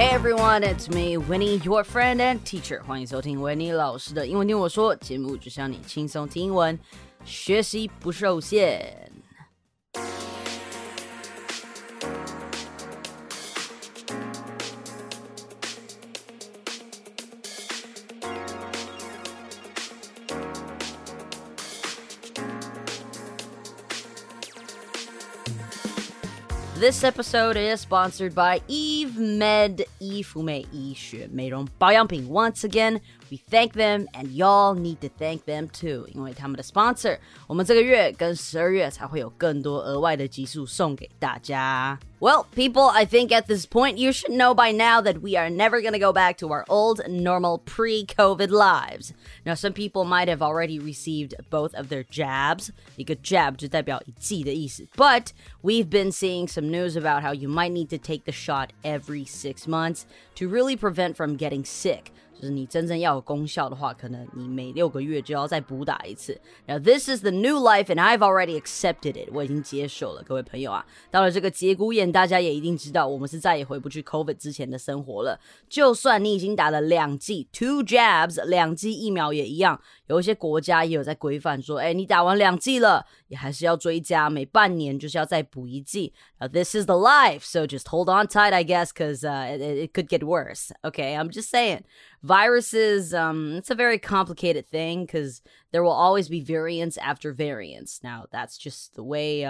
Hey everyone, it's me, Winnie, your friend and teacher. 欢迎收听维尼老师的英文听我说，节目只想你轻松听英文，学习不受限。This episode is sponsored by Eve Med 伊芙美医学美容保养品. Once again, we thank them and y'all need to thank them too. 因为他们的 sponsor, 我们这个月跟12月才会有更多额外的集数送给大家。Well, people, I think at this point you should know by now that we are never going to go back to our old, normal, pre-COVID lives. Now, some people might have already received both of their jabs. 一个 jab 就代表一剂的意思。But we've been seeing some news about how you might need to take the shot every 6 months to really prevent from getting sick.就是你真正要有功效的话，可能你每6个月就要再补打一次。Now this is the new life and I've already accepted it. 我已经接受了，各位朋友啊。到了这个节骨眼，大家也一定知道，我们是再也回不去 COVID 之前的生活了。就算你已经打了2剂 2 jabs 2剂疫苗也一样，有一些国家也有在规范说，你打完2剂了，也还是要追加，每半年就是要再补1剂。Now this is the life, so just hold on tight, I guess, because it could get worse. Okay, I'm just saying.Viruses, it's a very complicated thing because there will always be variants after variants. Now, that's just the way,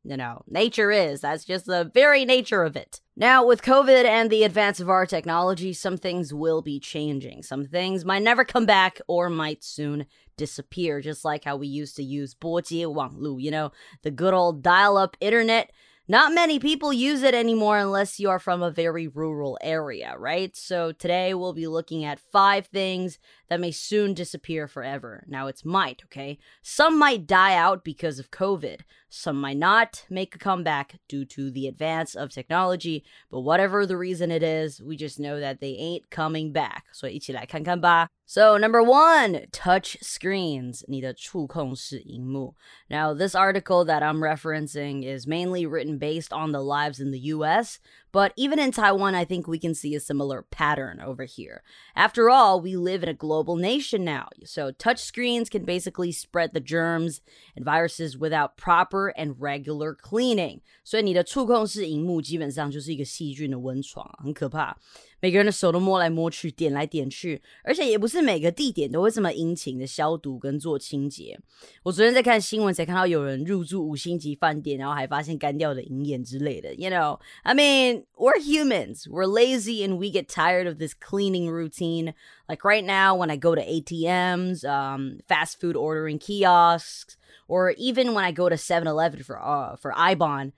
nature is. That's just the very nature of it. Now, with COVID and the advance of our technology, some things will be changing. Some things might never come back or might soon disappear, just like how we used to use 拨接网路, the good old dial-up internet.Not many people use it anymore unless you are from a very rural area, right? So today we'll be looking at 5 things that may soon disappear forever. Now it's might, okay? Some might die out because of COVID. Some might not make a comeback due to the advance of technology. But whatever the reason it is, we just know that they ain't coming back. 所以一起来看看吧。So number 1, touch screens, 你的触控式萤幕. Now this article that I'm referencing is mainly written based on the lives in the US, but even in Taiwan, I think we can see a similar pattern over here. After all, we live in a global nation now, so touch screens can basically spread the germs and viruses without proper and regular cleaning. 所以你的触控式萤幕基本上就是一个细菌的温床，很可怕。每个人的手都摸来摸去，点来点去，而且也不是每个地点都会这么殷勤的消毒跟做清洁。我昨天在看新闻才看到有人入住5星级饭店，然后还发现干掉的银眼之类的。I mean, we're humans. We're lazy and we get tired of this cleaning routine. Like right now when I go to ATMs, fast food ordering kiosks, or even when I go to 7-Eleven for Ibon,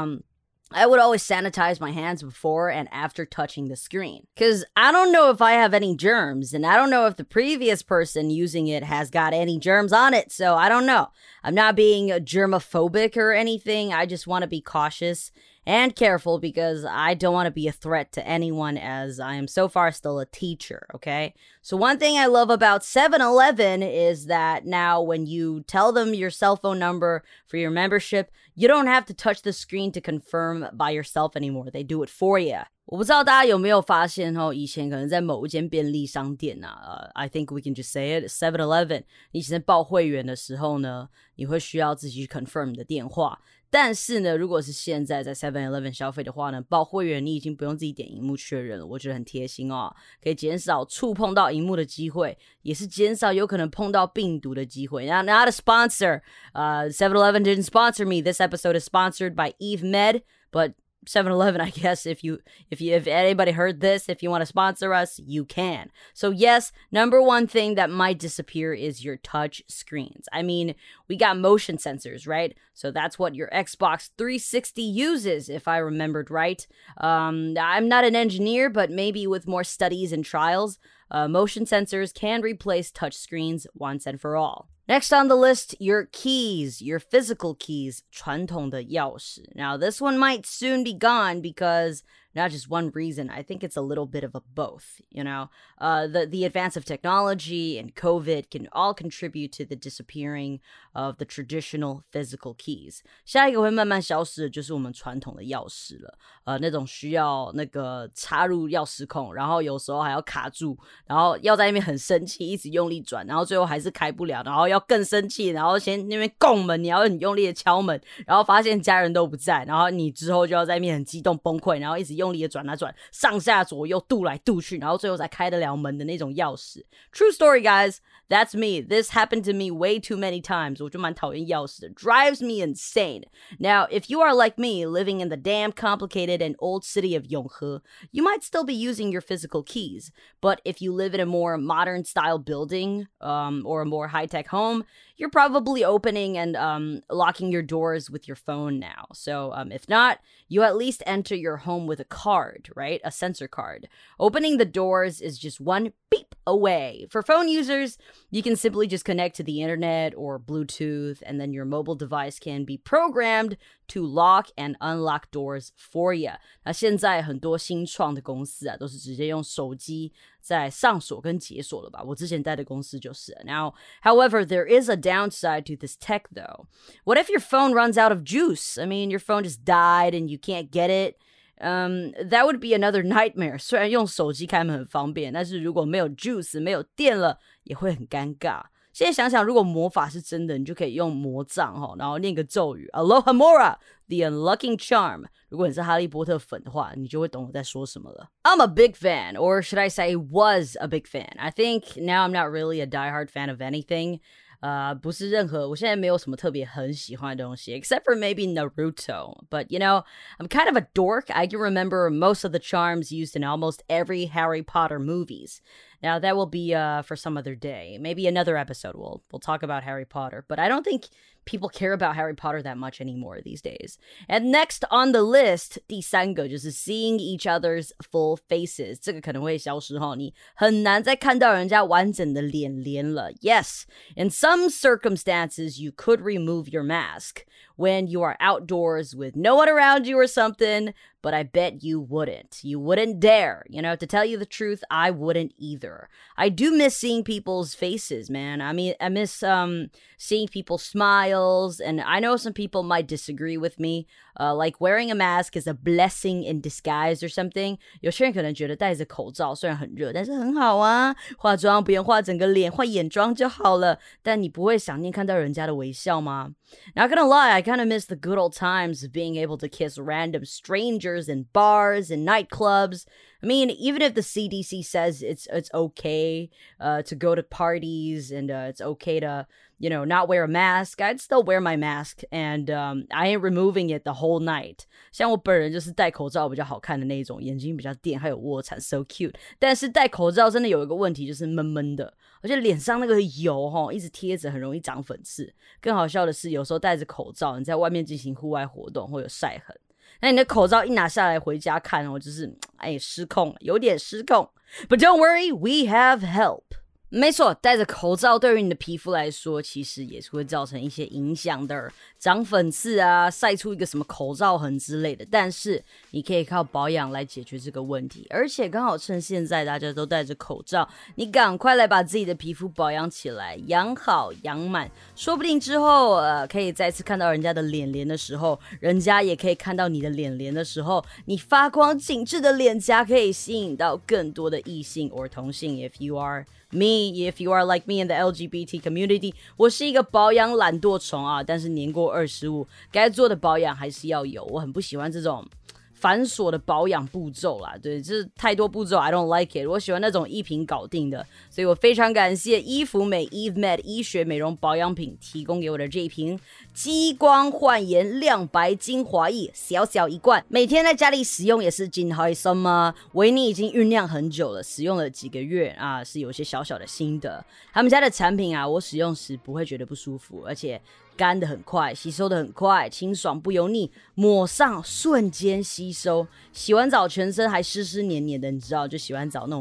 I would always sanitize my hands before and after touching the screen. Because I don't know if I have any germs, and I don't know if the previous person using it has got any germs on it, so I don't know. I'm not being germophobic or anything, I just want to be cautious and careful because I don't want to be a threat to anyone as I am so far still a teacher, okay? So one thing I love about 7-Eleven is that now when you tell them your cell phone number for your membership, you don't have to touch the screen to confirm by yourself anymore. They do it for you. 我不知道大家有没有发现以前可能在某一间便利商店I think we can just say it, 7-Eleven, 你以前在报会员的时候呢，你会需要自己去 confirm 你的电话。但是呢，如果是现在在 7-Eleven 消费的话呢，报会员你已经不用自己点萤幕确认了，我觉得很贴心可以减少触碰到萤幕的机会，也是减少有可能碰到病毒的机会。Now, not a sponsor. 7-Eleven didn't sponsor me. This episode is sponsored by Eve Med, but 7-Eleven, I guess, if anybody heard this, if you want to sponsor us, you can. So yes, number 1 thing that might disappear is your touch screens. I mean, we got motion sensors, right? So that's what your Xbox 360 uses, if I remembered right. I'm not an engineer, but maybe with more studies and trials, motion sensors can replace touch screens once and for all. Next on the list, your keys, your physical keys, 传统的钥匙. Now, this one might soon be gone because not just one reason. I think it's a little bit of a both, you know? The advance of technology and COVID can all contribute to the disappearing of the traditional physical keys. 下一个会慢慢消失的就是我们传统的钥匙了，那种需要那个插入钥匙孔，然后有时候还要卡住，然后要在那边很生气，一直用力转，然后最后还是开不了，然后要更生气，然后先那边拱门，你要很用力的敲门，然后发现家人都不在，然后你之后就要在那边很激动崩溃，然后一直用力的转啊转，上下左右渡来渡去，然后最后才开得了门的那种钥匙。True story, guys. That's me. This happened to me way too many times. 我就蛮讨厌钥匙的 drives me insane. Now, if you are like me, living in the damn complicated and old city of Yonghe, you might still be using your physical keys. But if you live in a more modern style building, or a more high-tech home, you're probably opening and locking your doors with your phone now. So if not, you at least enter your home with a card, right? A sensor card. Opening the doors is just one beep away. For phone users, you can simply just connect to the internet or Bluetooth, and then your mobile device can be programmed to lock and unlock doors for you. 那现在很多新创的公司啊，都是直接用手机在上锁跟解锁了吧？我之前待的公司就是。Now, however, there is a downside to this tech though. What if your phone runs out of juice? I mean, your phone just died and you can't get it. That would be another nightmare. 虽然用手机开门很方便，但是如果没有 juice 没有电了，也会很尴尬。现在想想，如果魔法是真的，你就可以用魔杖然后念个咒语 Aloha Mora, the unlocking charm. 如果你是哈利波特粉的话，你就会懂我在说什么了。I'm a big fan, or should I say was a big fan. I think now I'm not really a diehard fan of anything. 不是任何，我现在没有什么特别很喜欢的东西 except for maybe Naruto. But, you know, I'm kind of a dork. I can remember most of the charms used in almost every Harry Potter movies. Now, that will be for some other day. Maybe another episode we'll talk about Harry Potter. But I don't think people care about Harry Potter that much anymore these days. And next on the list, 第三个就是 seeing each other's full faces. 这个可能会消失你很难再看到人家完整的脸脸了。Yes, in some circumstances, you could remove your mask when you are outdoors with no one around you or something, but I bet you wouldn't. You wouldn't dare. You know, to tell you the truth, I wouldn't either. I do miss seeing people's faces, man. I mean, I miss seeing people's smiles, and I know some people might disagree with me. Like wearing a mask is a blessing in disguise or something. 有些人可能觉得戴着口罩虽然很热，但是很好啊，化妆不用化整个脸，化眼妆就好了。但你不会想念看到人家的微笑吗？ Not gonna lie, I kind of miss the good old times of being able to kiss random strangers in bars and nightclubs. I mean, even if the CDC says it's okay to go to parties and it's okay to, you know, not wear a mask, I'd still wear my mask, and I ain't removing it the whole night. 像我本人就是戴口罩比较好看的那种，眼睛比较电，还有卧蚕 so cute. 但是戴口罩真的有一个问题，就是闷闷的，而且脸上那个油一直贴着，很容易长粉刺。更好笑的是，有时候戴着口罩，你在外面进行户外活动会有晒痕。那你的口罩一拿下来回家看就是失控，有点失控。But don't worry, we have help. 没错，戴着口罩对于你的皮肤来说，其实也是会造成一些影响的，长粉刺啊，晒出一个什么口罩痕之类的。但是你可以靠保养来解决这个问题，而且刚好趁现在大家都戴着口罩，你赶快来把自己的皮肤保养起来，养好养满，说不定之后可以再次看到人家的脸脸的时候，人家也可以看到你的脸脸的时候，你发光紧致的脸颊可以吸引到更多的异性或同性。If you are me, if you are like me in the LGBT community, 我是一个保养懒惰虫啊，但是年过25，该做的保养还是要有。我很不喜欢这种繁琐的保养步骤啦，对，这太多步骤 I don't like it， 我喜欢那种一瓶搞定的，所以我非常感谢伊芙美 Eve Med 医学美容保养品提供给我的这一瓶激光焕颜亮白精华液，小小一罐，每天在家里使用也是真开心嘛。维尼已经酝酿很久了，使用了几个月啊，是有些小小的心得。他们家的产品啊，我使用时不会觉得不舒服，而且干得很快，吸收得很快，清爽不油腻，抹上瞬间吸收。洗完澡全身还湿湿黏黏的，你知道，就洗完澡那种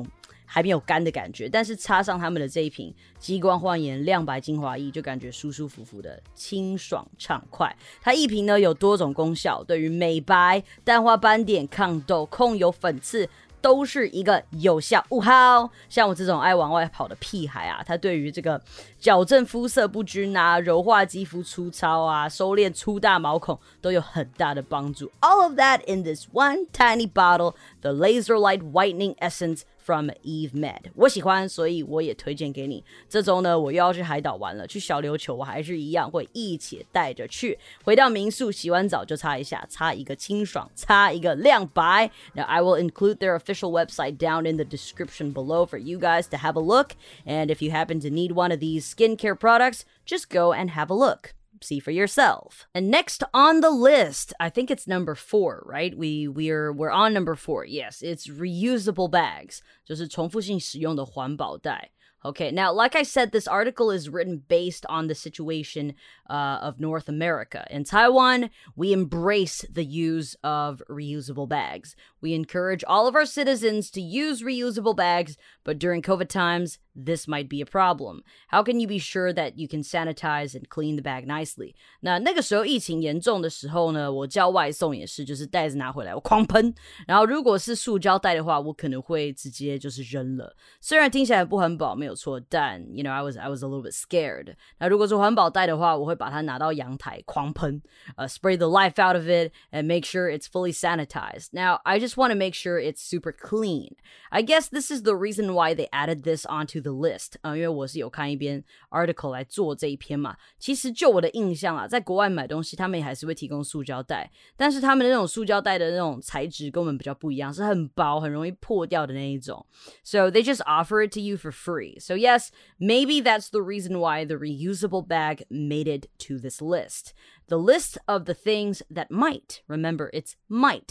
还没有干的感觉，但是插上他们的这一瓶激光焕颜亮白精华液，就感觉舒舒服服的清爽畅快。它一瓶呢有多种功效，对于美白、淡化斑点、抗痘、控油、粉刺都是一个有效物号。像我这种爱往外跑的屁孩啊，它对于这个矫正肤色不均啊、柔化肌肤粗糙啊、收敛粗大毛孔都有很大的帮助。All of that in this one tiny bottle, the Laser Light Whitening Essence from Eve Med. 我喜欢，所以我也推荐给你。这周呢，我又要去海岛玩了，去小琉球我还是一样会一起带着去。回到民宿洗完澡就擦一下，擦一个清爽，擦一个亮白。Now I will include their official website down in the description below for you guys to have a look. And if you happen to need one of these skincare products, just go and have a look.See for yourself. And next on the list, I think it's number 4, right? We're on number 4. Yes, it's reusable bags. 就是重复性使用的环保袋。Okay, now, like I said, this article is written based on the situation of North America. In Taiwan, we embrace the use of reusable bags. We encourage all of our citizens to use reusable bags, but during COVID times, this might be a problem. How can you be sure that you can sanitize and clean the bag nicely? 那个时候疫情严重的时候呢，我叫外送也是，就是袋子拿回来我狂喷，然后如果是塑胶袋的话，我可能会直接就是扔了。虽然听起来不环保没有错，但 you know I was a little bit scared. 那如果是环保袋的话，我会把它拿到阳台狂喷，spray the life out of it and make sure it's fully sanitized. Now I just want to make sure it's super clean. I guess this is the reason why they added this onto the list. 因为我是有看一篇 article 来做这一篇嘛。其实就我的印象啊，在国外买东西他们也还是会提供塑胶袋，但是他们的那种塑胶袋的那种材质跟我们比较不一样，是很薄很容易破掉的那一种。So they just offer it to you for free. So yes, maybe that's the reason why the reusable bag made it to this list. The list of the things that might, remember it's might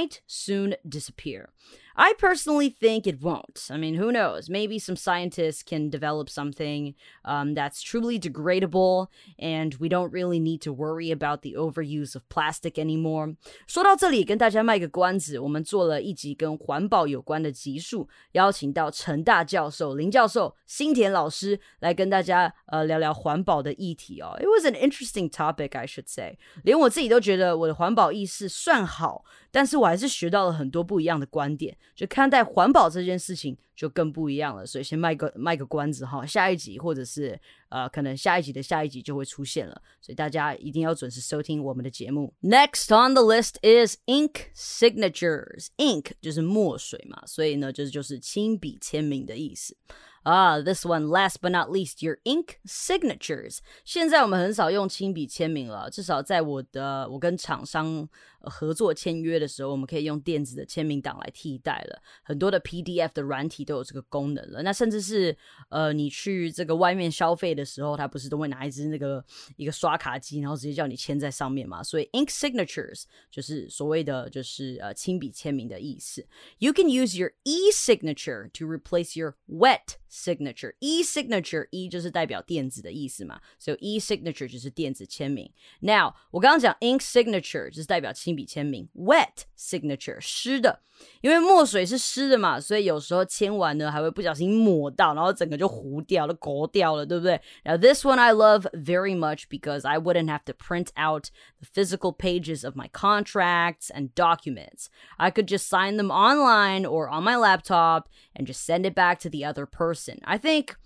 soon disappear. I personally think it won't. I mean, who knows? Maybe some scientists can develop something that's truly degradable, and we don't really need to worry about the overuse of plastic anymore. 说到这里，跟大家卖个关子，我们做了一集跟环保有关的集数，邀请到成大教授林教授、新田老师来跟大家聊聊环保的议题哦。It was an interesting topic, I should say. 连我自己都觉得我的环保意识算好，但是我还是学到了很多不一样的观点。就看待环保这件事情就更不一样了，所以先卖个关子哈，下一集或者是可能下一集的下一集就会出现了，所以大家一定要准时收听我们的节目。Next on the list is ink signatures. Ink 就是墨水嘛，所以呢就是亲笔签名的意思。This one, last but not least, your ink signatures. 现在我们很少用亲笔签名了，至少在我跟厂商合作签约的时候，我们可以用电子的签名档来替代了。很多的 PDF 的软体都有这个功能了。那甚至是你去这个外面消费的时候，它不是都会拿一个刷卡机，然后直接叫你签在上面嘛？所以 ink signatures 就是所谓的就是亲笔签名的意思。You can use your e-signature to replace your wet signature. E-signature, E 就是代表电子的意思嘛，所以 e-signature 就是电子签名。Now 我刚刚讲 ink signature 就是代表亲笔签名， wet signature 湿的，因为墨水是湿的嘛，所以有时候签完呢还会不小心抹到，然后整个就糊掉了勾掉了，对不对？ Now this one I love very much because I wouldn't have to print out the physical pages of my contracts and documents. I could just sign them online or on my laptop and just send it back to the other person. I think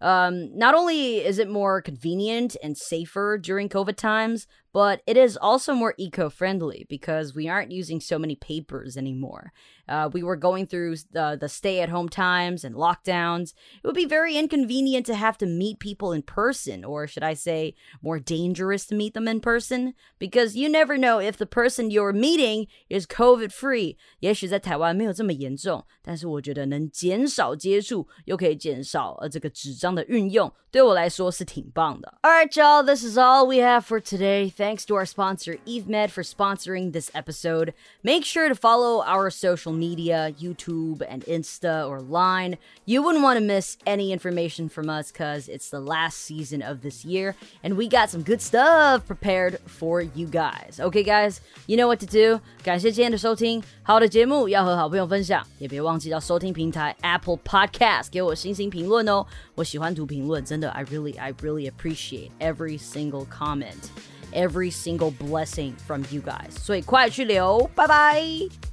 not only is it more convenient and safer during COVID times, but it is also more eco-friendly because we aren't using so many papers anymore. We were going through the stay-at-home times and lockdowns. It would be very inconvenient to have to meet people in person, or should I say, more dangerous to meet them in person, because you never know if the person you're meeting is COVID-free. 也许在台湾没有这么严重，但是我觉得能减少接触，又可以减少这个纸张的运用，对我来说是挺棒的。All right, y'all, this is all we have for today. Thanks to our sponsor, Eve Med, for sponsoring watching this episode. Make sure to follow our social media, YouTube and Insta or Line. You wouldn't want to miss any information from us because it's the last season of this year and we got some good stuff prepared for you guys. Okay, guys, you know what to do. 感谢今天的收听，好的节目要和好朋友分享，也别忘记到收听平台 Apple Podcast 给我星星评论哦。我喜欢读评论，真的 I really appreciate every single comment, every single blessing from you guys. 所以快去留，拜拜。